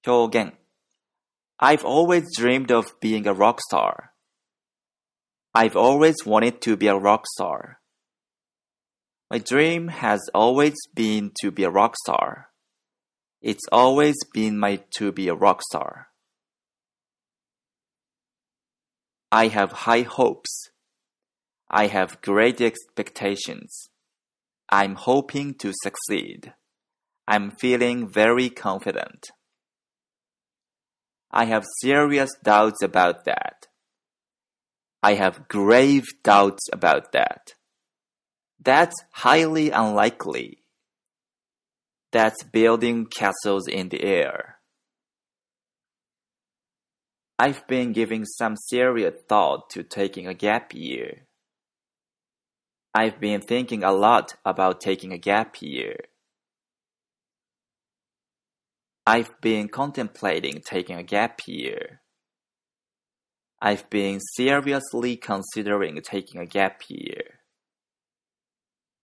表現 I've always dreamed of being a rock star. I've always wanted to be a rock star. My dream has always been to be a rock star. It's always been to be a rock star. I have high hopes. I have great expectations. I'm hoping to succeed. I'm feeling very confident. I have serious doubts about that. I have grave doubts about that. That's highly unlikely. That's building castles in the air. I've been giving some serious thought to taking a gap year. I've been thinking a lot about taking a gap year. I've been contemplating taking a gap year. I've been seriously considering taking a gap year.